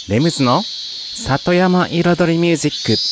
レムズの里山彩りミュージック。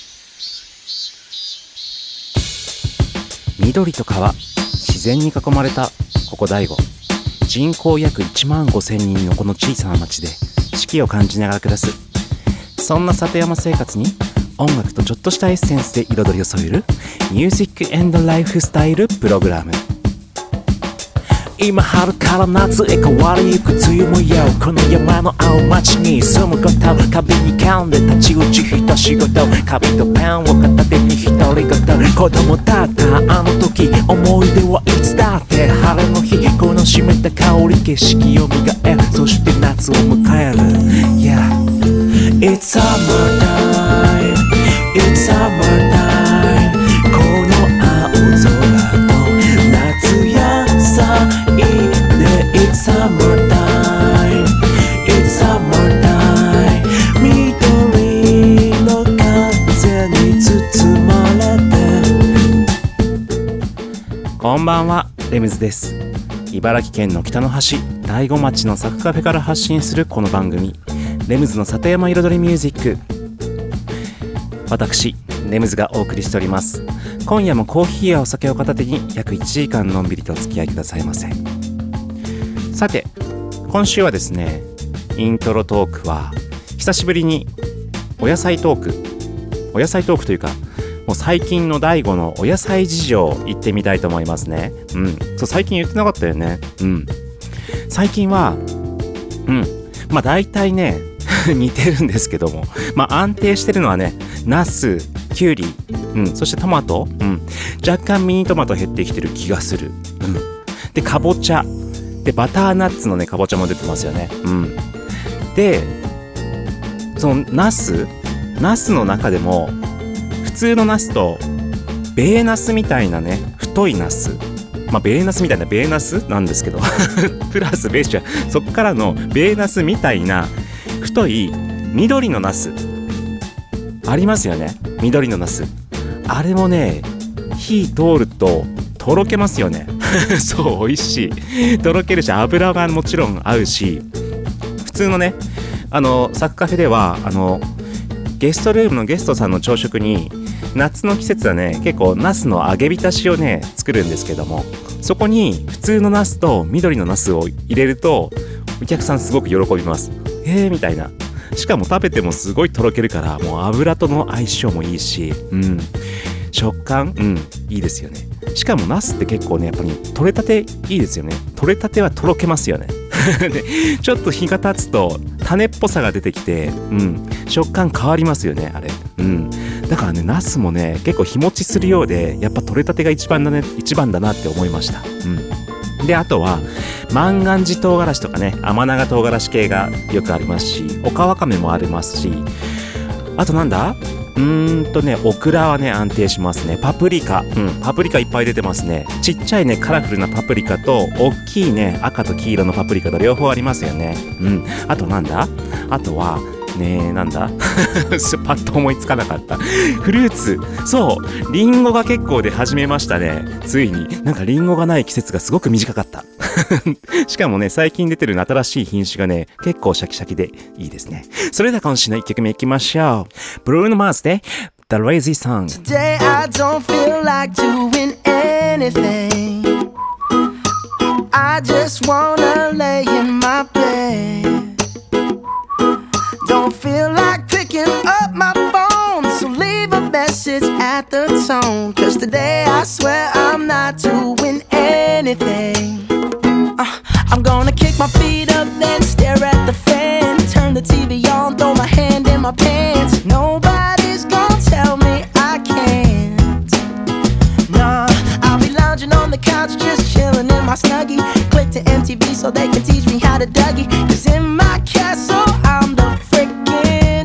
緑と川、自然に囲まれたここ大悟。人口約1万5,000人のこの小さな町で四季を感じながら暮らす。そんな里山生活に音楽とちょっとしたエッセンスで彩りを添えるミュージック&ライフスタイルプログラム。今春から夏へ変わりゆく梅雨もよう、この山の青町に住むこと、壁に噛んで立ち打ち一仕事、紙とペンを片手に独り言、子供だったあの時、思い出はいつだって晴れの日、この湿った香り景色を磨え、そして夏を迎える。 Yeah It's summer time It's summer time この青空と夏野菜It's summer time It's summer time 緑の風に包まれて。こんばんは、レムズです。茨城県の北の端大子町のサクカフェから発信するこの番組、レムズの里山彩りミュージック。私レムズがお送りしております。今夜もコーヒーやお酒を片手に約1時間のんびりとお付き合いくださいませ。さて、今週はですね、イントロトークは久しぶりにお野菜トークというか、もう最近の大悟のお野菜事情言ってみたいと思いますね。そう、最近言ってなかったよね。最近はまあ大体ね似てるんですけども、まあ安定してるのはね、ナス、キュウリ、そしてトマト、若干ミニトマト減ってきてる気がする。で、かぼちゃで、バターナッツのね、かぼちゃも出てますよね。で、そのナスの中でも普通のナスとベーナスみたいなね、太いナス、まあベーナスみたいなベーナスなんですけどプラスベーシはそっからのベーナスみたいな太い緑のナスありますよね。緑のナス、あれもね、火通るととろけますよねそう、美味しい、とろけるし、油がもちろん合うし、普通のね、サクカフェではゲストルームのゲストさんの朝食に夏の季節はね、結構ナスの揚げ浸しをね作るんですけども、そこに普通のナスと緑のナスを入れるとお客さんすごく喜びます。みたいな。しかも食べてもすごいとろけるから、もう油との相性もいいし、食感いいですよね。しかもナスって結構ね、やっぱり取れたていいですよね。取れたてはとろけますよねで、ちょっと日が経つと種っぽさが出てきて、食感変わりますよね、あれ。だからね、ナスもね、結構日持ちするようで、やっぱ取れたてが一番だなって思いました。で、あとは万願寺唐辛子とかね、甘長唐辛子系がよくありますし、オカワカメもありますし、あとなんだ、オクラはね、安定しますね。パプリカ、パプリカいっぱい出てますね。ちっちゃいね、カラフルなパプリカと、大きいね、赤と黄色のパプリカと両方ありますよね。あとなんだ、あとはね、なんだパッと思いつかなかった。フルーツ、そう、リンゴが結構出始めましたね。ついに。なんかリンゴがない季節がすごく短かったしかもね、最近出てる新しい品種がね、結構シャキシャキでいいですね。それでは今週の1曲目いきましょう。ブルーノ・マーズで The Lazy Song。 Today I don't feel like doing anything. I just wanna lay in my bed.Don't feel like picking up my phone, so leave a message at the tone. Cause today I swear I'm not doing anything. I'm gonna kick my feet up, then stare at the fan. Turn the TV on, throw my hand in my pants. Nobody's gonna tell me I can't. Nah, I'll be lounging on the couch, just chilling in my Snuggie. Click to MTV so they can teach me how to Dougie. Cause in my castle I'm the freaking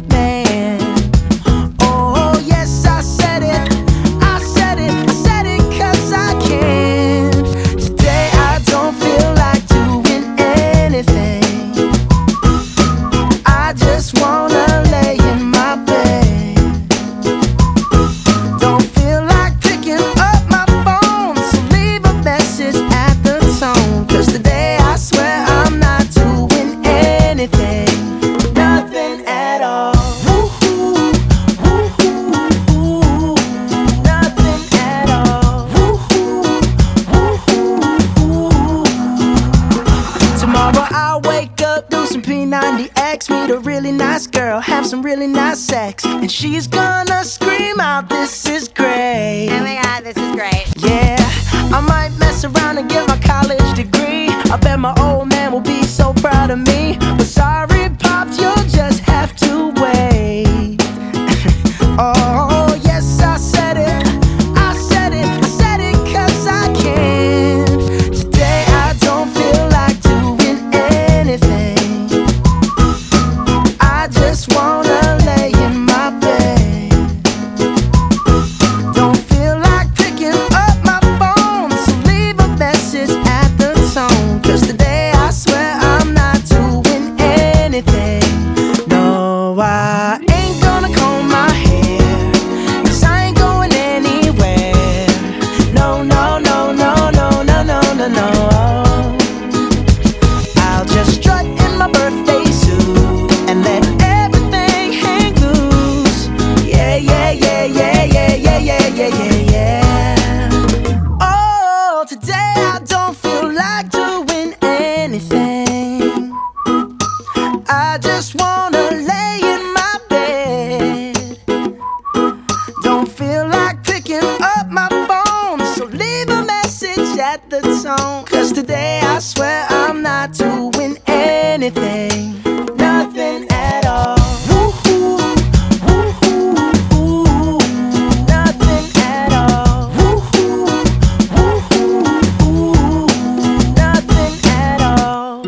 Pushing P90X, meet a really nice girl, have some really nice sex, and she's gonna scream out, this is great. Oh my god, this is great. Yeah, I might mess around and get my college degree. I bet my old man will be so proud of me. But sorry, Pops, you'll just have to wait. Oh, yes, I said it. I said it. I said it 'cause I can. Today I don't feel like doing anything. I just wanna lay in my bed. Don't feel like picking up my phone, so leave a message at the tone. 'Cause today I swear I'm not doing anything. No, I ain't gonna comb my hair, 'cause I ain't going anywhere. No, no, no, no, no, no, no, no, no. I'll just strut in my birthday suit and let everything hang loose. Yeah, yeah, yeah, yeah, yeah, yeah, yeah, yeah, yeah, yeah. Oh, today I don't feel like doing anything. I just wanna lay in my bed. Don't feel like picking up my phone, so leave a message at the tone. 'Cause today I swear I'm not doing anything. Nothing at all. Woo-hoo, woo-hoo, woo-hoo. Nothing at all. Woo-hoo, woo-hoo, woo-hoo. Nothing at all.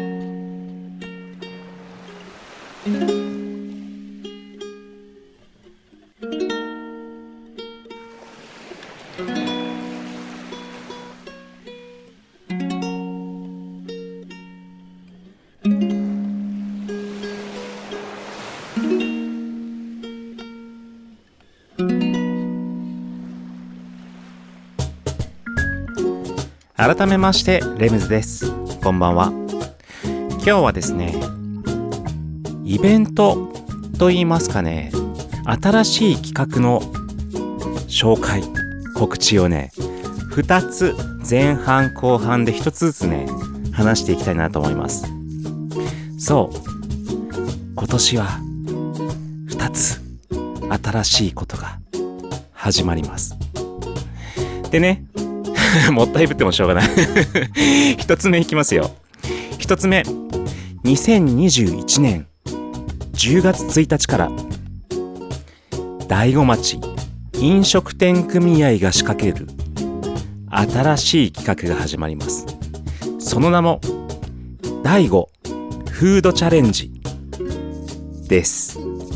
改めましてレムズです。こんばんは。今日はですね、イベントと言いますかね、新しい企画の紹介、告知をね、2つ前半後半で1つずつね、話していきたいなと思います。そう、今年は2つ新しいことが始まります。でね、もったいぶってもしょうがない一つ目いきますよ。一つ目、2021年10月1日から大子町飲食店組合が仕掛ける新しい企画が始まります。その名も大子フードチャレンジです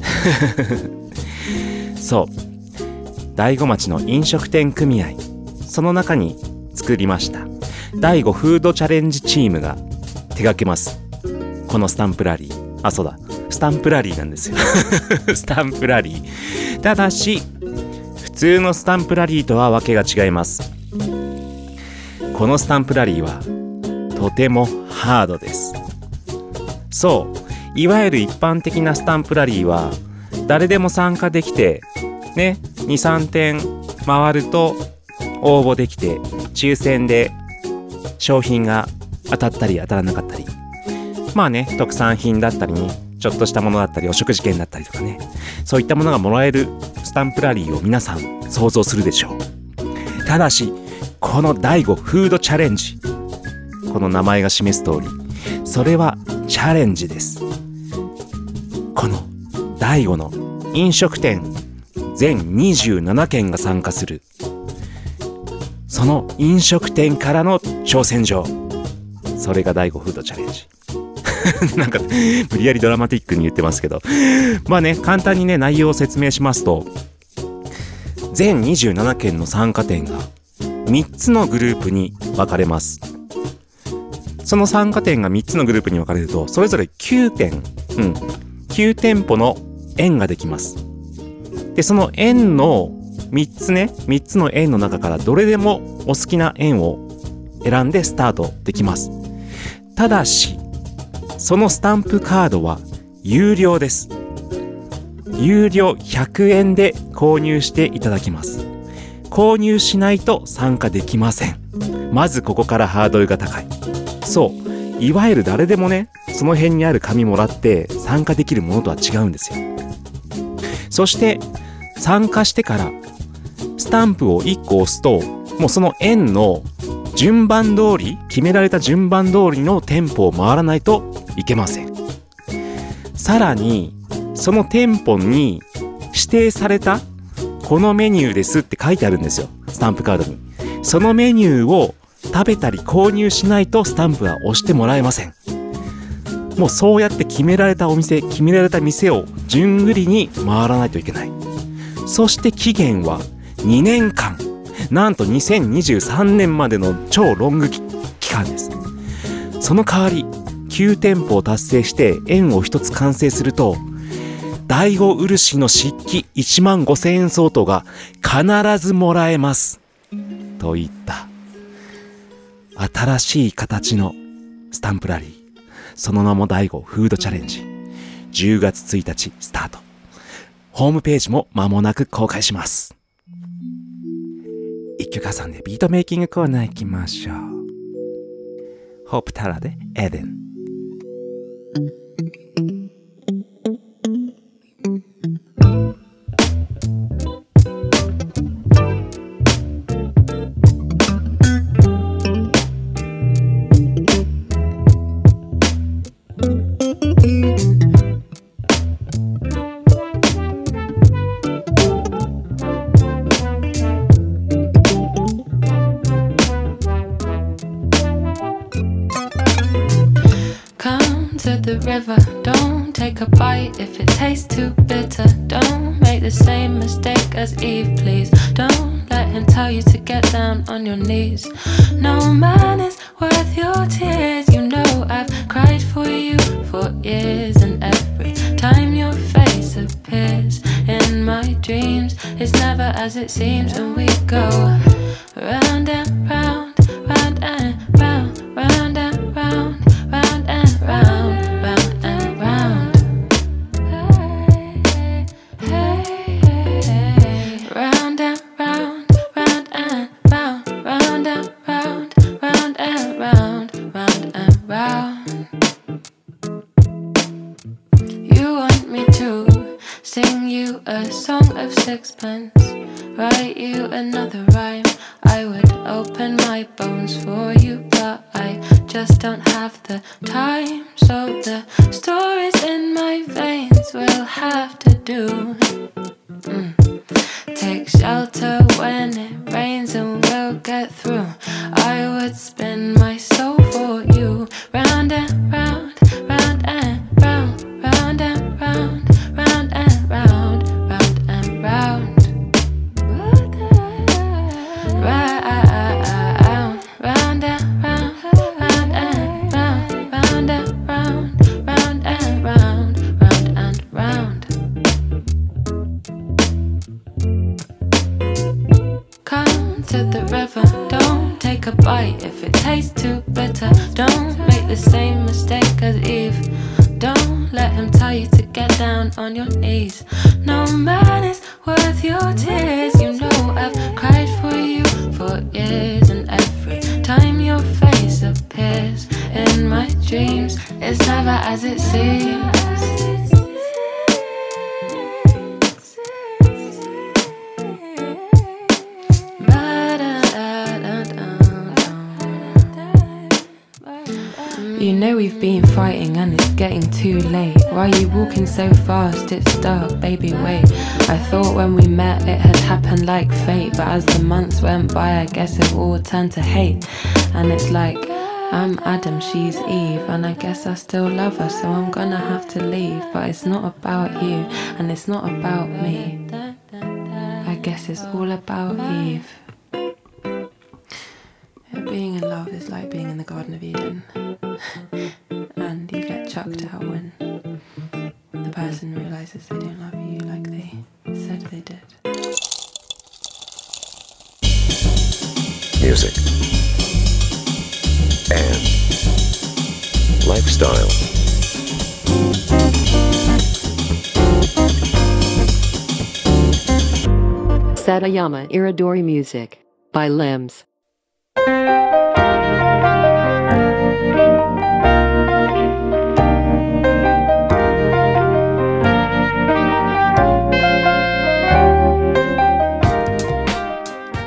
そう大子町の飲食店組合、その中に作りました大子フードチャレンジチームが手掛けますこのスタンプラリー。あ、そうだ、スタンプラリーなんですよスタンプラリー。ただし普通のスタンプラリーとはわけが違います。このスタンプラリーはとてもハードです。そう、いわゆる一般的なスタンプラリーは誰でも参加できてね、 2,3 点回ると応募できて抽選で商品が当たったり当たらなかったり、まあね、特産品だったりね、ちょっとしたものだったりお食事券だったりとかね、そういったものがもらえるスタンプラリーを皆さん想像するでしょう。ただしこの大子フードチャレンジ、この名前が示す通りそれはチャレンジです。この大子の飲食店全27軒が参加する、その飲食店からの挑戦状、それが大子フードチャレンジなんか無理やりドラマティックに言ってますけど、まあね、簡単にね内容を説明しますと、全27件の参加店が3つのグループに分かれます。その参加店が3つのグループに分かれると、それぞれ9店舗の園ができます。でその園の3つの園の中からどれでもお好きな園を選んでスタートできます。ただしそのスタンプカードは有料です。有料100円で購入していただきます。購入しないと参加できません。まずここからハードルが高い。そう、 いわゆる誰でもね、その辺にある紙もらって参加できるものとは違うんですよ。そして参加してからスタンプを1個押すと、もうその円の順番通り、決められた順番通りの店舗を回らないといけません。さらにその店舗に指定されたこのメニューですって書いてあるんですよ、スタンプカードに。そのメニューを食べたり購入しないとスタンプは押してもらえません。もうそうやって決められたお店、決められた店を順繰りに回らないといけない。そして期限は2年間、なんと2023年までの超ロング期間です。その代わり9店舗を達成して円を1つ完成すると、第五漆の漆器1万5000円相当が必ずもらえますといった新しい形のスタンプラリー、その名も第五フードチャレンジ、10月1日スタート。ホームページも間もなく公開します。一曲挟んでビートメイキングコーナー行きましょう。ホープタラでエデン。 River, don't take a bite if it tastes too bitter. Don't make the same mistake as Eve, please. Don't let him tell you to get down on your knees. No man is worth your tears. You know I've cried for you for years, and every time your face appears in my dreams, it's never as it seems. And we go round and round, round and round, round and round, round and round. A song of sixpence, write you another rhyme. I would open my bones for you, but I just don't have the time. So the stories in my veins will have to do. Take shelter when it rains and we'll get through. I would spin my soul for you, round and round, round and round, round and round, round and round. A bite if it tastes too bitter. Don't make the same mistake as Eve. Don't let him tell you to get down on your knees. No man is worth your tears. You know I've cried for you for years, and every time your face appears in my dreams, it's never as it seems. You know we've been fighting and it's getting too late. Why are you walking so fast? It's dark, baby, wait. I thought when we met it had happened like fate, but as the months went by I guess it all turned to hate. And it's like, I'm Adam, she's Eve, and I guess I still love her, so I'm gonna have to leave. But it's not about you, and it's not about me. I guess it's all about Eve. Being in love is like being in the Garden of Eden. And you get chucked out when the person realises they don't love you like they said they did. Music and lifestyle. Satayama Iridori Music by Limbs.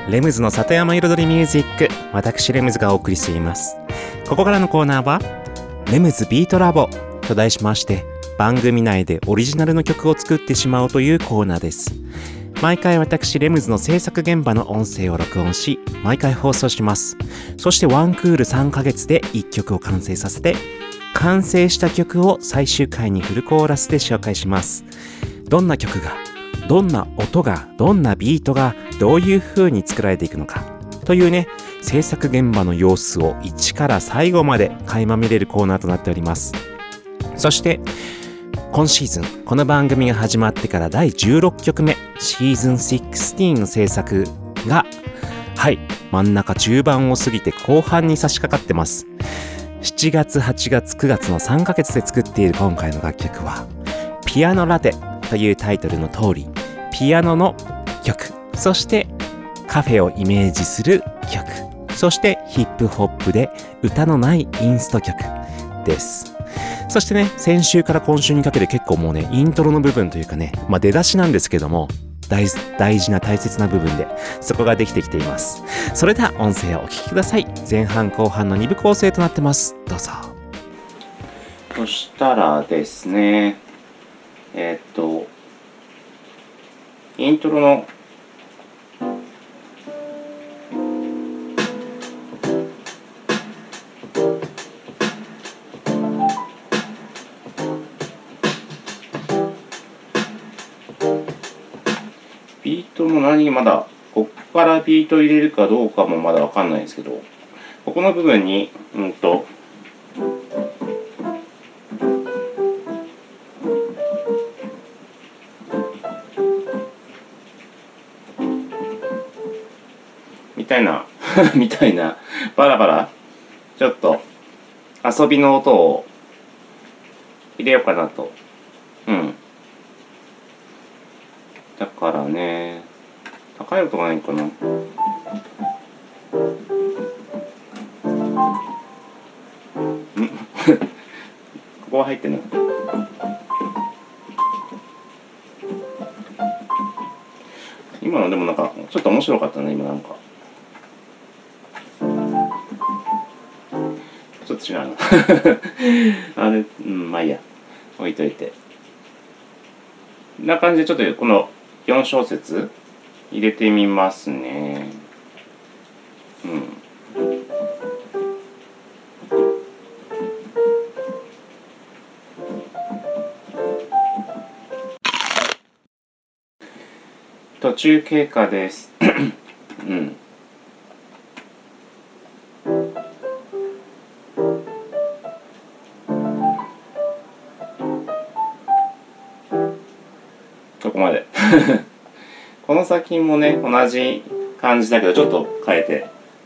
レムズの里山彩りミュージック、私レムズがお送りしています。ここからのコーナーはレムズビートラボと題しまして、番組内でオリジナルの曲を作ってしまおうというコーナーです。毎回私レムズの制作現場の音声を録音し、毎回放送します。そしてワンクール3ヶ月で1曲を完成させて、完成した曲を最終回にフルコーラスで紹介します。どんな曲が、どんな音が、どんなビートがどういう風に作られていくのかというね、制作現場の様子を1から最後まで垣間見れるコーナーとなっております。そして今シーズン、この番組が始まってから第16曲目、シーズン16の制作が、はい、真ん中中盤を過ぎて後半に差し掛かってます。7月、8月、9月の3ヶ月で作っている今回の楽曲は、ピアノラテというタイトルの通り、ピアノの曲、そしてカフェをイメージする曲、そしてヒップホップで歌のないインスト曲です。そしてね、先週から今週にかけて結構もうね、イントロの部分というかね、出だしなんですけども、大事な大切な部分でそこができてきています。それでは音声をお聞きください。前半後半の2部構成となってます。どうぞ。そしたらですね、イントロのビートもまだここからビート入れるかどうかもまだわかんないんですけど、ここの部分にみたいなバラバラちょっと遊びの音を入れようかなと。だからね、高い音がないかな。ここは入ってんの。今のでもなんかちょっと面白かったね。今なんかちょっと違うなあれ、まあいいや、置いといて。こんな感じでちょっとこの4小節入れてみますね。途中経過ですここまでこの先もね、同じ感じだけどちょっと変えて、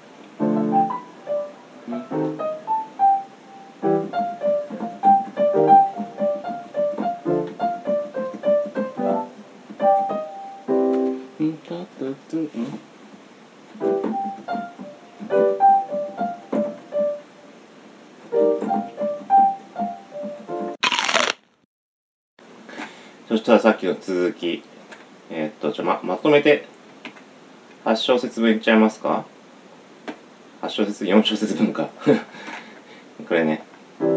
そしたらさっきの続き、まとめて8小節分いっちゃいますか。8小節、4小節分かこれね。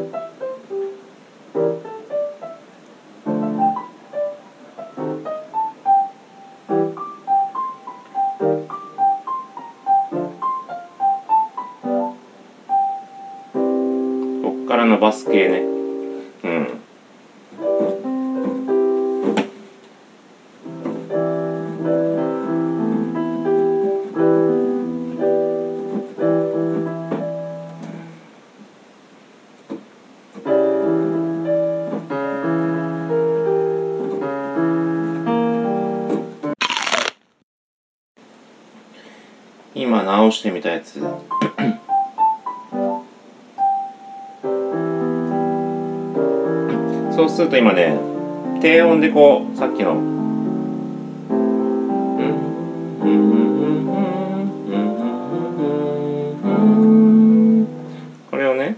こっから伸ばす系ね。今直してみたやつそうすると今ね、低音でこうさっきのこれをね、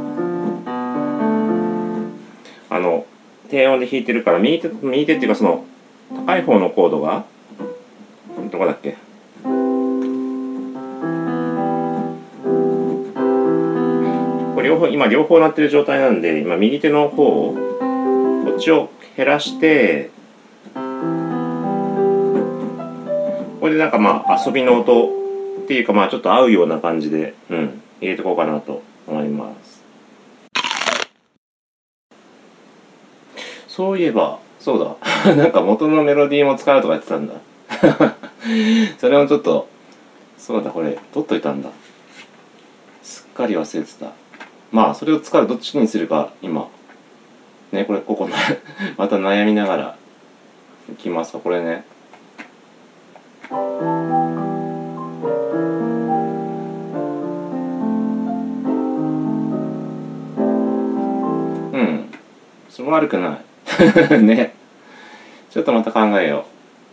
低音で弾いてるから、右手っていうかその高い方のコードがどこだっけ、 今両方鳴ってる状態なんで、今右手の方をこっちを減らして、これでなんかまあ遊びの音っていうか、まあちょっと合うような感じで、入れていこうかなと思います。そういえば、そうだなんか元のメロディーも使うとか言ってたんだそれもちょっと、そうだ、これ取っといたんだ。すっかり忘れてた。まあそれを使うどっちにするか今ね、ここまた悩みながらいきますか。これね、それも悪くないね。ちょっとまた考えよう。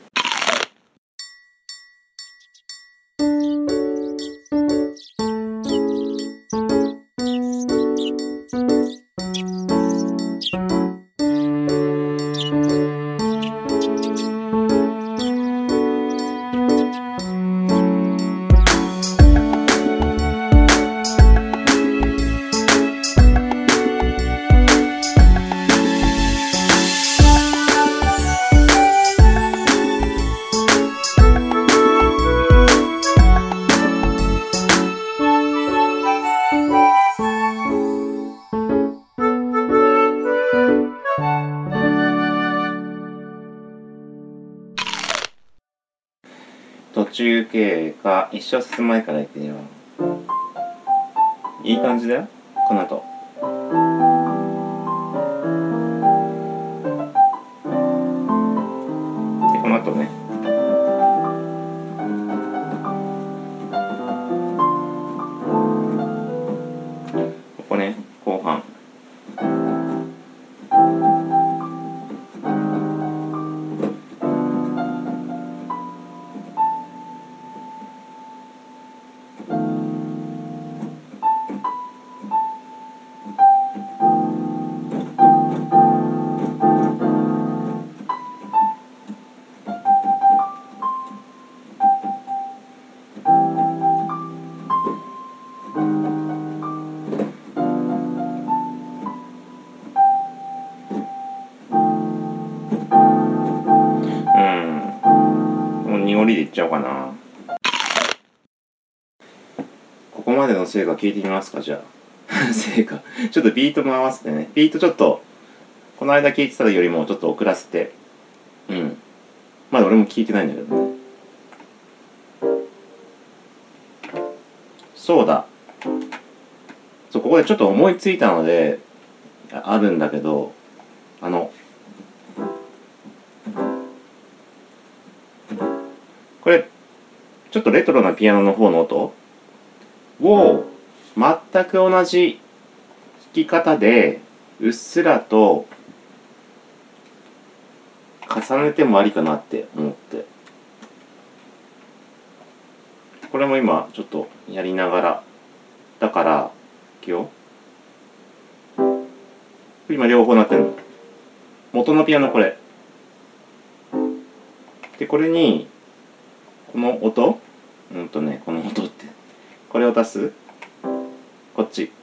途中経過一小節前から言ってよ。いい感じだよ、この後。でこの後ね、ここね、後半濁りでいっちゃおうかな。ここまでの成果聞いてみますか、じゃあ成果ちょっとビートも合わせてね。ビートちょっとこの間聞いてたよりもちょっと遅らせて、まだ俺も聞いてないんだけどね。そうだ、ここでちょっと思いついたのであるんだけど、これちょっとレトロなピアノの方の音を全く同じ弾き方でうっすらと重ねてもありかなって思って、これも今ちょっとやりながらだから、いくよ。今両方鳴ってるの。元のピアノこれで、これにこの音、この音ってこれを足す、こっち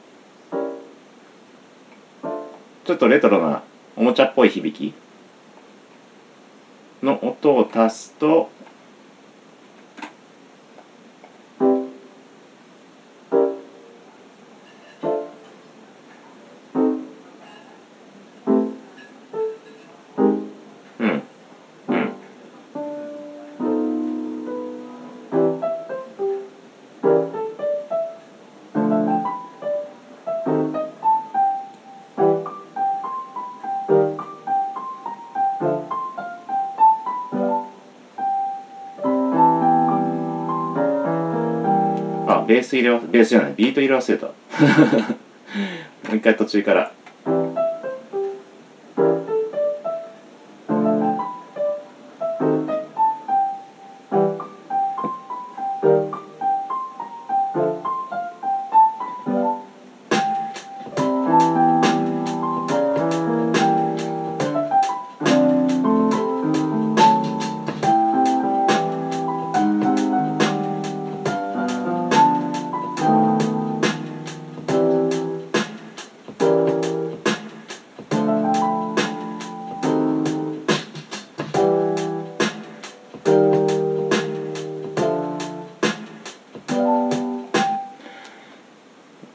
ちょっとレトロなおもちゃっぽい響きの音を足すと、ベースじゃない、ビート入れ忘れたもう一回途中から。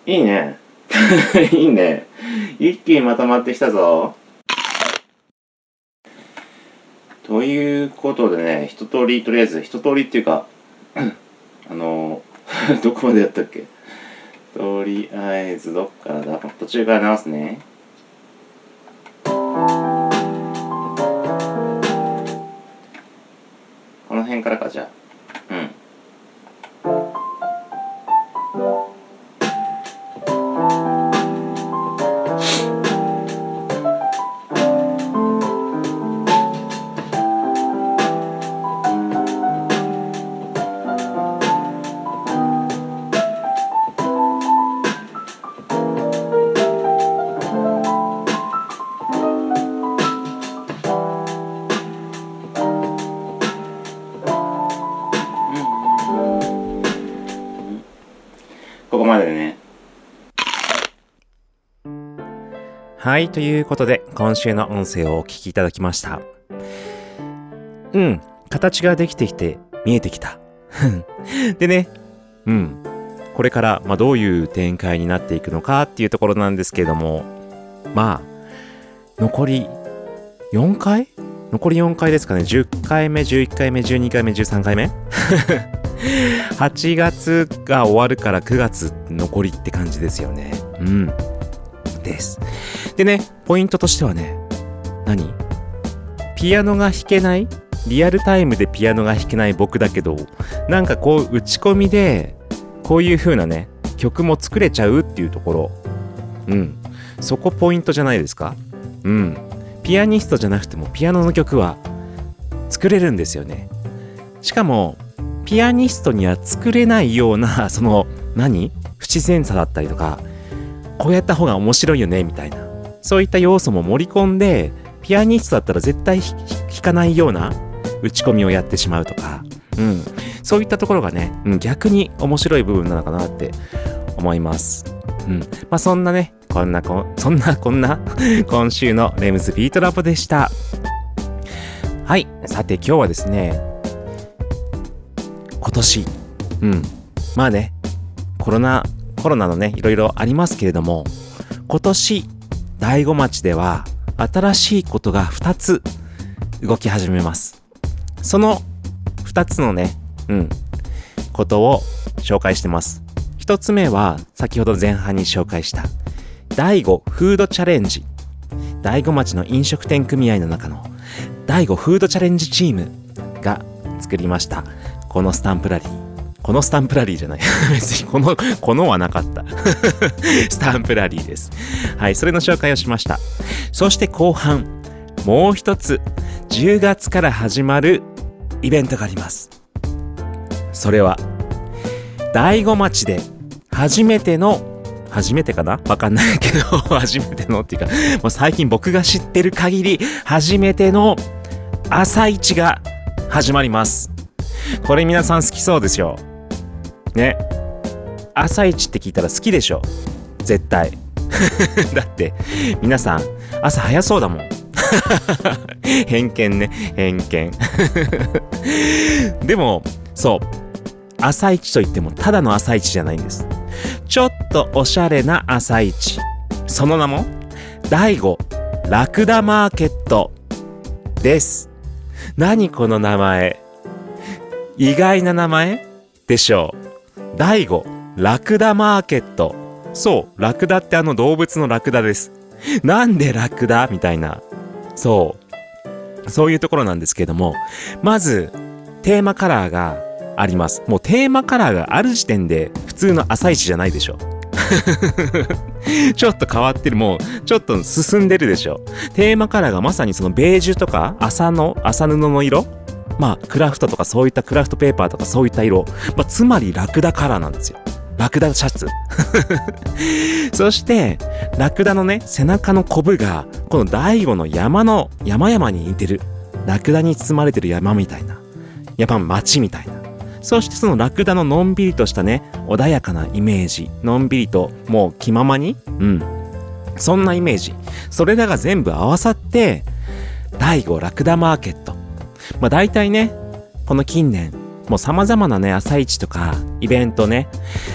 いいね。いいね。一気にまとまってきたぞ。ということでね、とりあえず一通りっていうかどこまでやったっけ。とりあえずどっからだ。途中から直すね。この辺からか。じゃあここまでね。はい、ということで今週の音声をお聞きいただきました。形ができてきて見えてきた。でね、これからどういう展開になっていくのかっていうところなんですけれども、残り4回ですかね。10回目、11回目、12回目、13回目8月が終わるから9月残りって感じですよね。です。でね、ポイントとしてはね、ピアノが弾けない、リアルタイムでピアノが弾けない僕だけど、なんかこう打ち込みでこういう風なね曲も作れちゃうっていうところ、そこポイントじゃないですか。ピアニストじゃなくてもピアノの曲は作れるんですよね。しかもピアニストには作れないようなその不自然さだったりとか、こうやった方が面白いよねみたいな、そういった要素も盛り込んで、ピアニストだったら絶対弾かないような打ち込みをやってしまうとか、そういったところがね、逆に面白い部分なのかなって思います。そんなね、こんな今週のレムズビートラボでした。はい、さて今日はですね、今年コロナのねいろいろありますけれども、今年大子町では新しいことが2つ動き始めます。その2つのねことを紹介してます。1つ目は先ほど前半に紹介した大子フードチャレンジ。大子町の飲食店組合の中の大子フードチャレンジチームが作りましたこのスタンプラリーじゃない別にこのはなかったスタンプラリーです。はい、それの紹介をしました。そして後半もう一つ10月から始まるイベントがあります。それは大子町で初めてかな、わかんないけど初めてのっていうか、もう最近僕が知ってる限り初めての朝市が始まります。これ皆さん好きそうでしょね。朝市って聞いたら好きでしょ絶対だって皆さん朝早そうだもん偏見でもそう、朝市といってもただの朝市じゃないんです。ちょっとおしゃれな朝市、その名も大子ラクダマーケットです。何この名前、意外な名前でしょう。大子ラクダマーケット。そう、ラクダって動物のラクダです。なんでラクダみたいな、そういうところなんですけども、まずテーマカラーがあります。もうテーマカラーがある時点で普通の朝市じゃないでしょちょっと変わってる、もうちょっと進んでるでしょ。テーマカラーがまさにそのベージュとか麻布の色、クラフトとかそういったクラフトペーパーとかそういった色、つまりラクダカラーなんですよ。ラクダシャツそしてラクダのね背中のコブがこの大子の山々に似てる、ラクダに包まれてる山みたいな、町みたいな。そしてそのラクダののんびりとしたね穏やかなイメージ、のんびりともう気ままに、そんなイメージ、それらが全部合わさって大子ラクダマーケット。大体ねこの近年もう様々なね朝市とかイベントね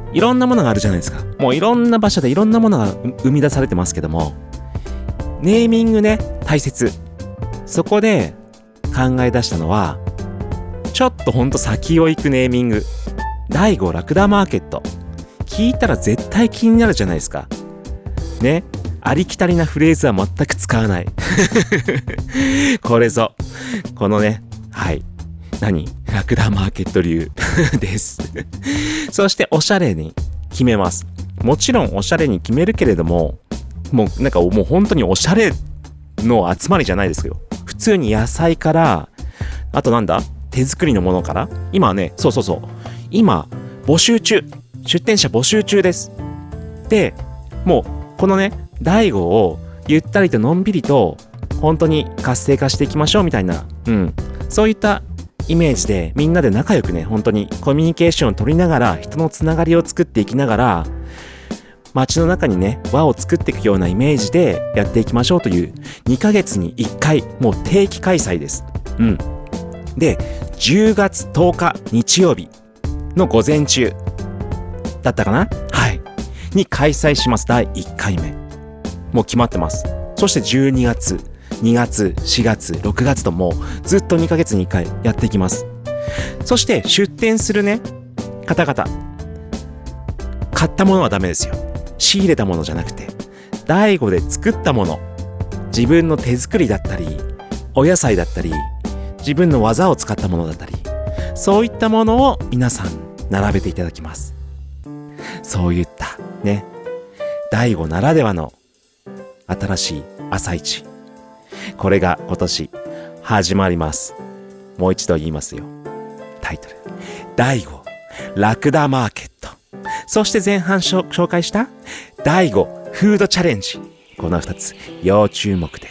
いろんなものがあるじゃないですか。もういろんな場所でいろんなものが生み出されてますけども、ネーミングね、大切。そこで考え出したのは、ちょっとほんと先を行くネーミング。第5ラクダマーケット。聞いたら絶対気になるじゃないですか。ね。ありきたりなフレーズは全く使わない。これぞ。このね、はい。ラクダマーケット流です。そしておしゃれに決めます。もちろんおしゃれに決めるけれども、もう本当におしゃれの集まりじゃないですよ。普通に野菜から、あと手作りのものから。今ね、そう。今、募集中。出店者募集中です。で、もう、このね、第5をゆったりとのんびりと、本当に活性化していきましょうみたいな、そういったイメージで、みんなで仲良くね、本当にコミュニケーションを取りながら、人のつながりを作っていきながら、街の中にね、輪を作っていくようなイメージでやっていきましょうという、2ヶ月に1回、もう定期開催です。で、10月10日日曜日の午前中だったかな？はい。に開催します。第1回目。もう決まってます。そして12月、2月、4月、6月ともうずっと2ヶ月に1回やっていきます。そして出店するね、方々。買ったものはダメですよ。仕入れたものじゃなくて、第5で作ったもの。自分の手作りだったり、お野菜だったり、自分の技を使ったものだったり、そういったものを皆さん並べていただきます。そういったね、第5ならではの新しい朝市。これが今年始まります。もう一度言いますよ。タイトル。第5ラクダマーケット。そして前半紹介した第5フードチャレンジ。この2つ要注目です。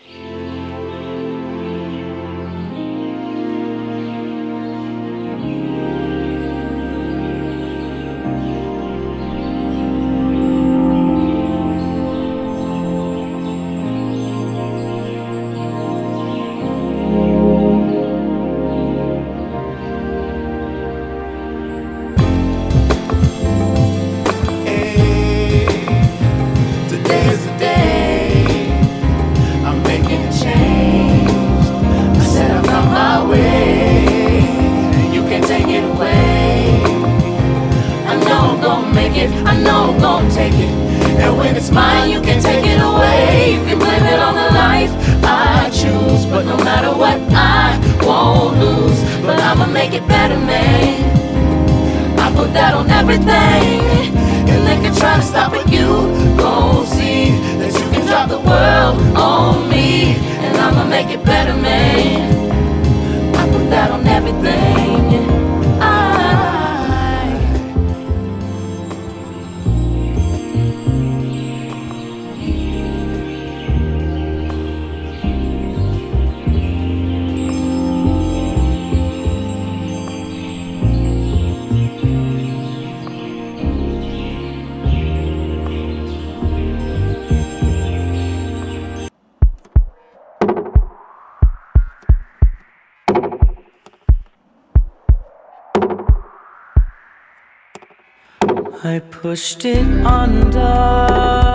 I pushed it under,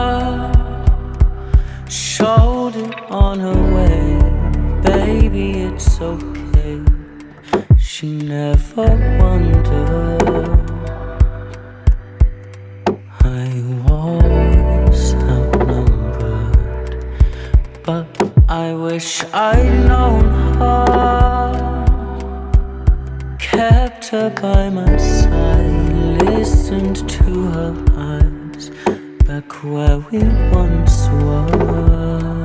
showed it on her way. Baby, it's okay. She never wondered I was outnumbered, but I wish I'd known her, kept her by my side, listened to her eyes, back where we once were.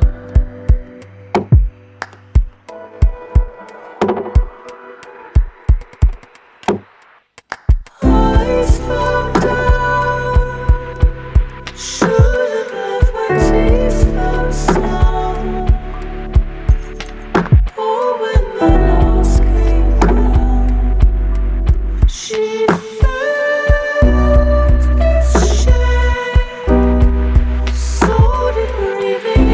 Eyes fell down, should've left where tears fell sound. Oh, when the loss came round, she felt this shame. So did breathing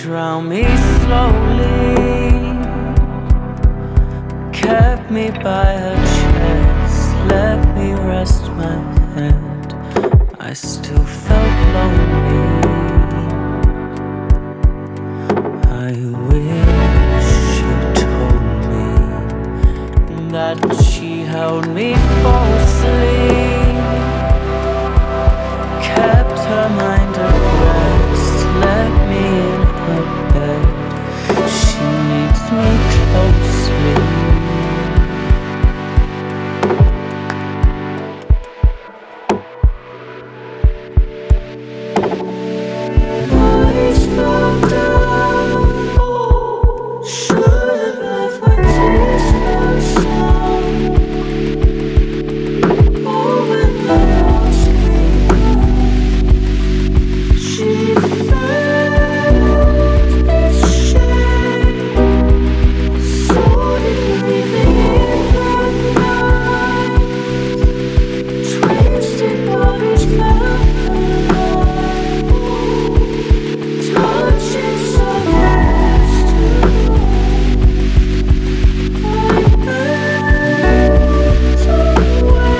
drown me slowly, kept me by her chest, let me rest my head. I still felt lonely. I wish she told me that she held me falsely, kept her mind at rest, let me in her bed. She needs me closely. Body's fucked up. Should've left my tears for some. Oh, when the walls came up, she felt this shame. So did we, the night. Twisted bodies felt alive. Touching some hands too. Like birds away.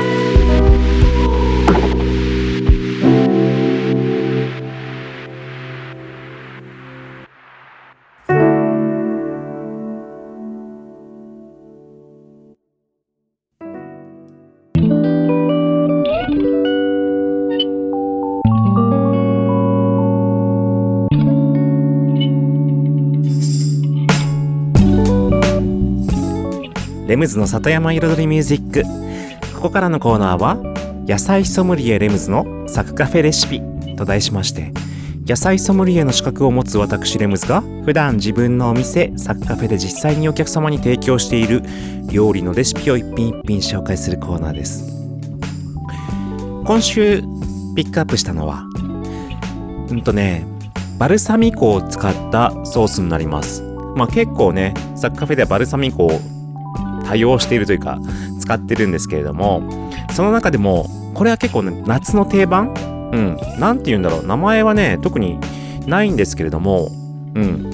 レムズの里山彩りミュージック。ここからのコーナーは野菜ソムリエレムズのサクカフェレシピと題しまして、野菜ソムリエの資格を持つ私レムズが普段自分のお店サクカフェで実際にお客様に提供している料理のレシピを一品一品紹介するコーナーです。今週ピックアップしたのはバルサミコを使ったソースになります。結構ねサクカフェではバルサミコを多用しているというか使ってるんですけれども、その中でもこれは結構ね夏の定番、なんて言うんだろう、名前はね特にないんですけれども、煮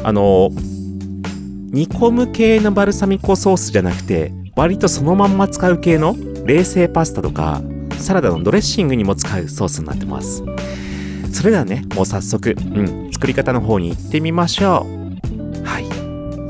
込む系のバルサミコソースじゃなくて割とそのまんま使う系の冷製パスタとかサラダのドレッシングにも使うソースになってます。それではねもう早速、作り方の方に行ってみましょう。はい。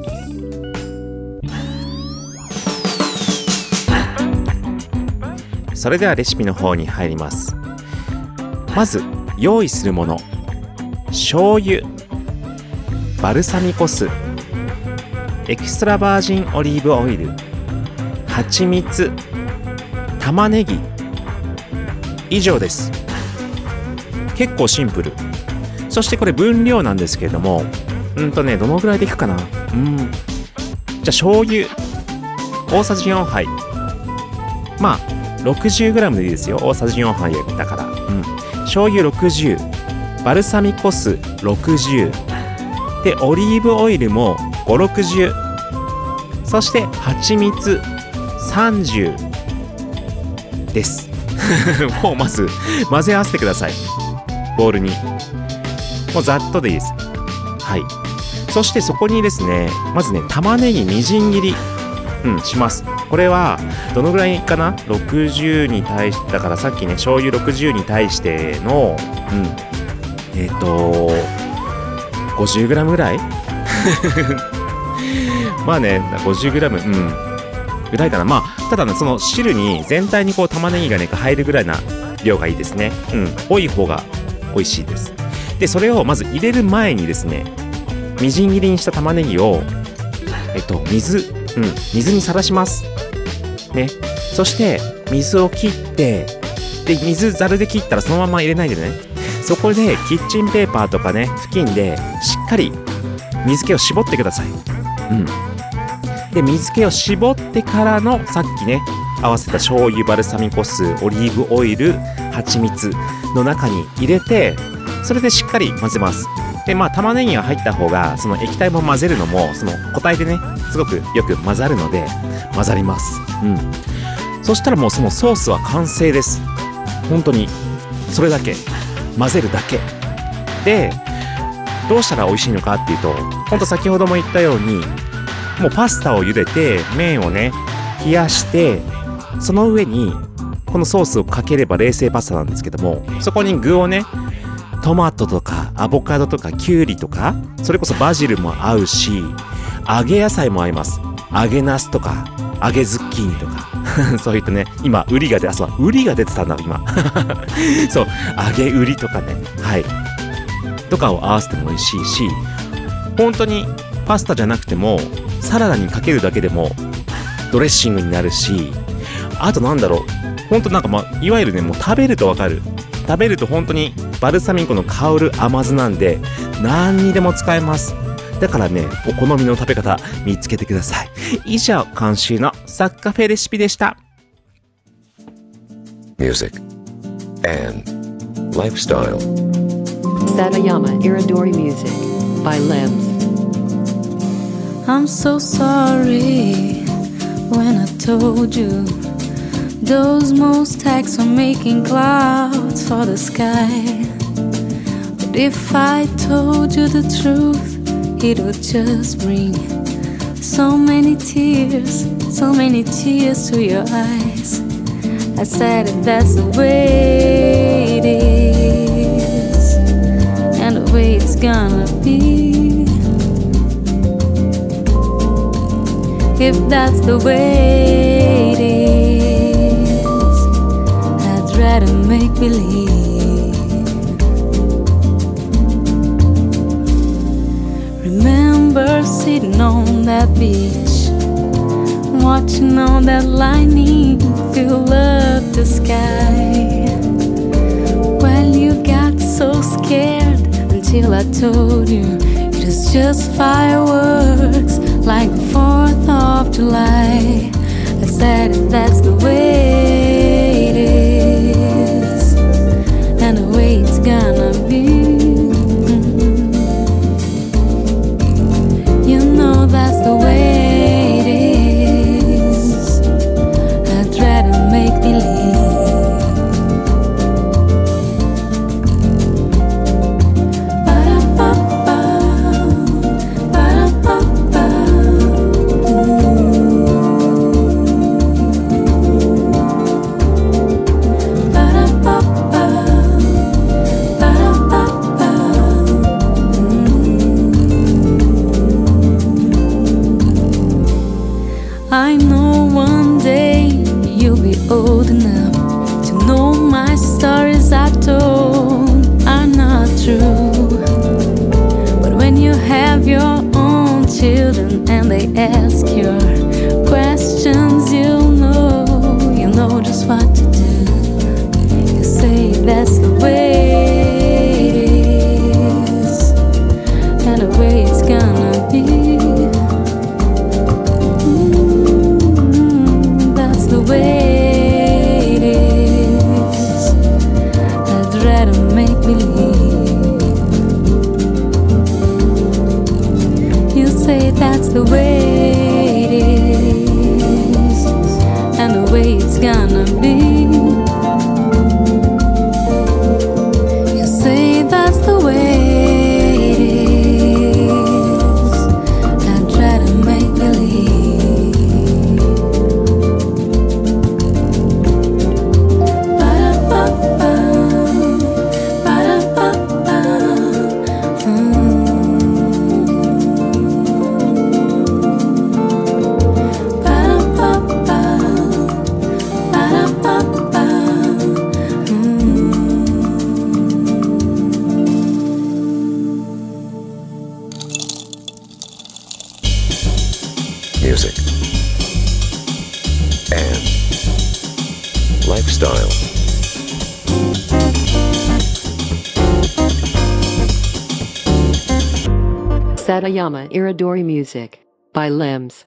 それではレシピの方に入ります。まず用意するもの、醤油、バルサミコ酢、エクストラバージンオリーブオイル、蜂蜜、玉ねぎ、以上です。結構シンプル。そしてこれ分量なんですけれども、どのぐらいでいくかな。じゃあ醤油大さじ4杯、60g でいいですよ。大さじ4杯だから、醤油60、バルサミコ酢60で、オリーブオイルも5、60、そして蜂蜜30です。もうまず混ぜ合わせてください。ボウルにもうざっとでいいです。はい。そしてそこにですね、まずね玉ねぎみじん切りします。これはどのぐらいかな。60に対してだから、さっきね醤油60に対しての50g ぐらい50g ぐらいかな。ただねその汁に全体にこう玉ねぎがね入るぐらいな量がいいですね。多い方が美味しいです。でそれをまず入れる前にですね、みじん切りにした玉ねぎを水にさらしますね。そして水を切って、で水ざるで切ったらそのまま入れないでね、そこでキッチンペーパーとかね布巾でしっかり水気を絞ってください。で水気を絞ってからのさっきね合わせた醤油、バルサミコ酢、オリーブオイル、蜂蜜の中に入れて、それでしっかり混ぜます。で玉ねぎが入った方がその液体も混ぜるのもその固体でねすごくよく混ざるので混ざります。そしたらもうそのソースは完成です。本当にそれだけ混ぜるだけで、 どうしたら美味しいのかっていうと、ほんと先ほども言ったように、もうパスタを茹でて麺をね冷やして、その上にこのソースをかければ冷製パスタなんですけども、そこに具をね、トマトとかアボカドとかキュウリとか、それこそバジルも合うし、揚げ野菜も合います。揚げナスとか揚げズッキーニとかそういったね、今ウリが出てたんだ今そう揚げウリとかね、はいとかを合わせても美味しいし、本当にパスタじゃなくてもサラダにかけるだけでもドレッシングになるし、あとなんだろう、本当なんかいわゆるね、もう食べるとわかる、食べると本当にバルサミコの香る甘酢なんで何にでも使えます。だからね、お好みの食べ方見つけてください。以上、今週のサッカフェレシピでした。 Music and Lifestyle Satayama Iridori Music by Lems. I'm so sorry when I told you those most tags are making clouds for the sky. But if I told you the truth, it would just bring so many tears to your eyes. I said that that's the way it is, and the way it's gonna be. If that's the way it is, I'd rather make believe. Remember sitting on that beach, watching all that lightning fill up the sky. Well, you got so scared until I told you it was just fireworks, like the 4th of July. I said if that's the way it is, and the way it's gonna be. You know that's the way it is. I'd rather make believe. Ba-da-ba-ba, ba-da-ba-ba. Ba-da-ba-ba, ba-da-ba-ba. I know one day you'll be old enough to know my stories I told are not true. But when you have your own children and they ask your questions, you'll know just what to do. You say that's the way it is, and the way it's gonna be. The way it is, I'd rather make believe. You say that's the way it is, and the way it's gonna be. You say that's the way it is, I'd rather make believe. Music and Lifestyle. Satayama Iridori Music by Lems.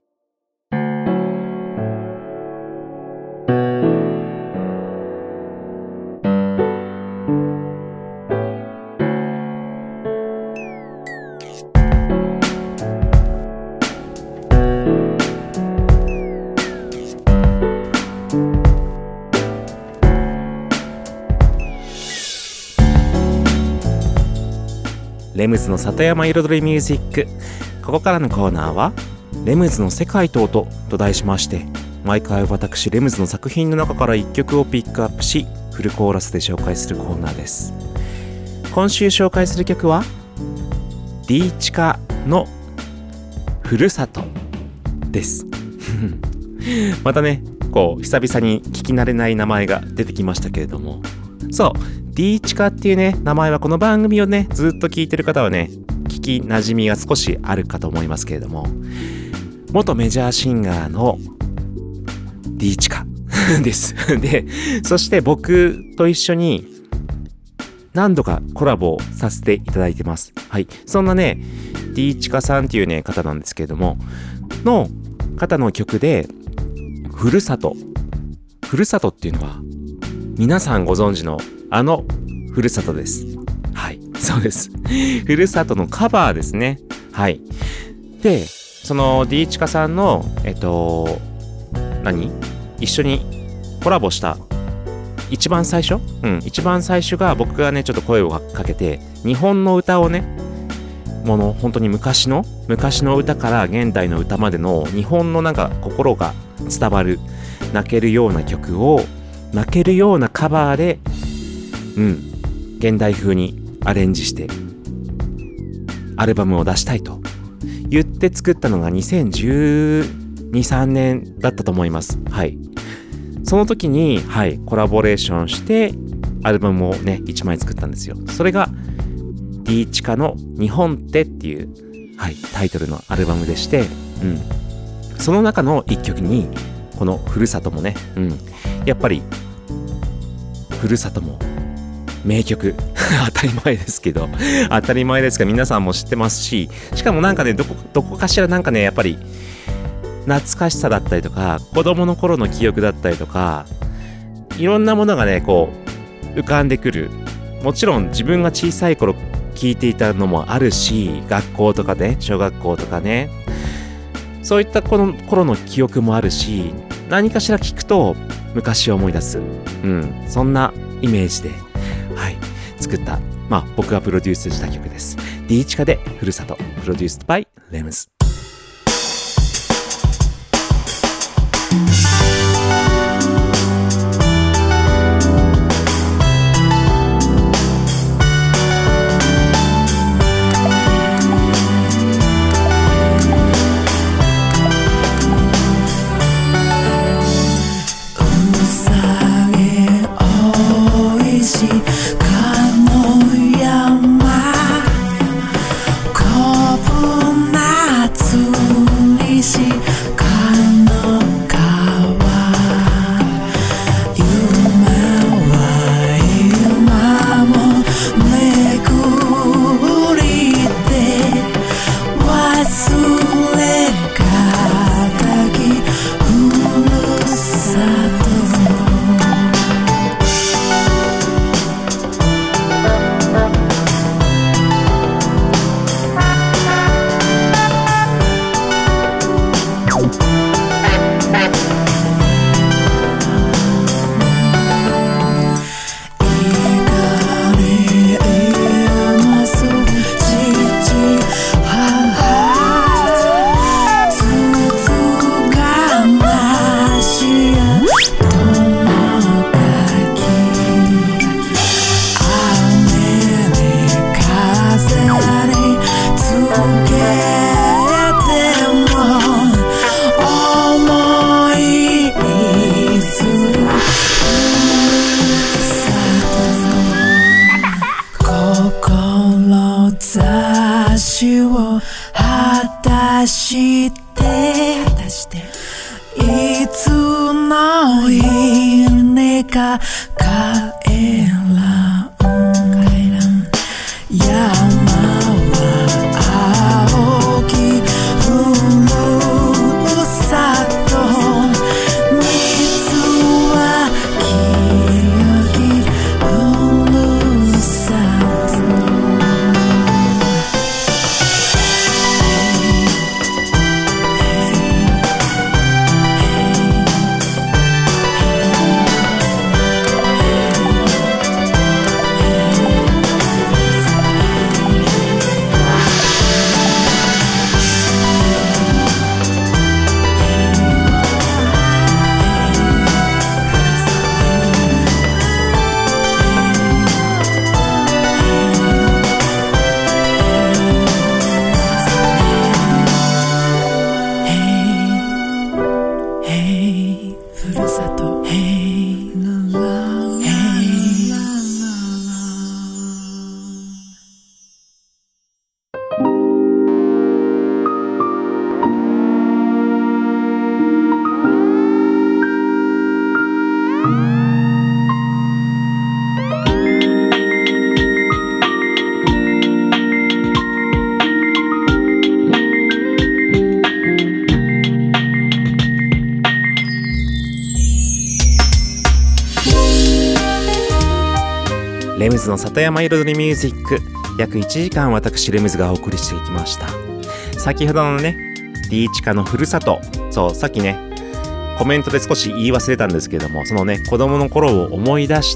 レムズの里山彩りミュージック。ここからのコーナーはレムズの世界と音と題しまして、毎回私レムズの作品の中から1曲をピックアップし、フルコーラスで紹介するコーナーです。今週紹介する曲はDチカのふるさとですまたね、こう久々に聞き慣れない名前が出てきましたけれども、そう D チカっていうね名前は、この番組をねずっと聞いてる方はね聞き馴染みが少しあるかと思いますけれども、元メジャーシンガーの D チカですで、そして僕と一緒に何度かコラボをさせていただいてます。はい、そんなね D チカさんっていうね方なんですけれども、の方の曲でふるさとっていうのは皆さんご存知のあのふるさとです。はい、そうです。ふるさとのカバーですね。はい。で、その D チカさんの一緒にコラボした一番最初が僕がねちょっと声をかけて、日本の歌をね、本当に昔の歌から現代の歌までの日本のなんか心が伝わる泣けるような曲を泣けるようなカバーで現代風にアレンジしてアルバムを出したいと言って作ったのが2012、3年だったと思います。はい。その時に、はい、コラボレーションしてアルバムをね1枚作ったんですよ。それが D チカの日本ってっていう、はい、タイトルのアルバムでして、その中の1曲にこのふるさともね、やっぱりふるさとも名曲当たり前ですけど皆さんも知ってますし、しかもなんかねどこかしらなんかねやっぱり懐かしさだったりとか、子供の頃の記憶だったりとか、いろんなものがねこう浮かんでくる。もちろん自分が小さい頃聞いていたのもあるし、学校とかね、小学校とかね、そういったこの頃の記憶もあるし、何かしら聞くと昔を思い出す、そんなイメージで、はい、作った、僕がプロデュースした曲です。 D チカでふるさと、プロデュースバイレムズ。いつの稲か帰らん山は青きふるさと水は清きふるさとレムズの里山彩りミュージック、約1時間私レムズがお送りしていきました。先ほどのね、Dチカのふるさと、そう、さっきねコメントで少し言い忘れたんですけども、そのね子供の頃を思い出して、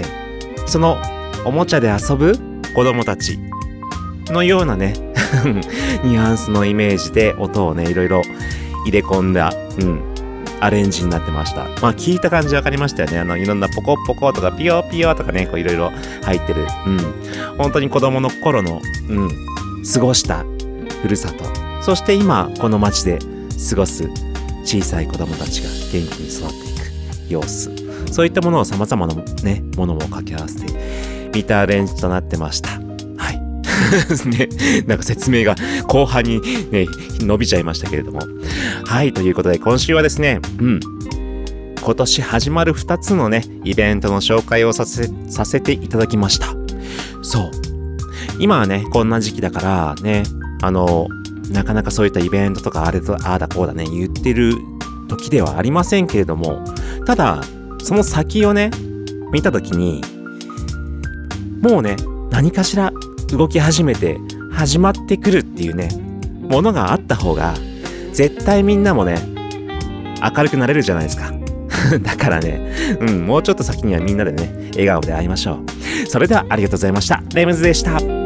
そのおもちゃで遊ぶ子供たちのようなねニュアンスのイメージで音をねいろいろ入れ込んだ、アレンジになってました。まあ聞いた感じわかりましたよね。いろんなポコポコとかピヨピヨとかね、こういろいろ入ってる、本当に子供の頃の、過ごしたふるさと、そして今この街で過ごす小さい子供たちが元気に育っていく様子、そういったものを様々なねものも掛け合わせてビターアレンジとなってました。ね、なんか説明が後半にね伸びちゃいましたけれども、はい、ということで今週はですね、今年始まる2つのねイベントの紹介をさせていただきました。そう、今はねこんな時期だからね、なかなかそういったイベントとかああだこうだね言ってる時ではありませんけれども、ただその先をね見た時にもうね何かしら動き始めて始まってくるっていうねものがあった方が絶対みんなもね明るくなれるじゃないですかだからね、もうちょっと先にはみんなでね笑顔で会いましょう。それではありがとうございました。レムズでした。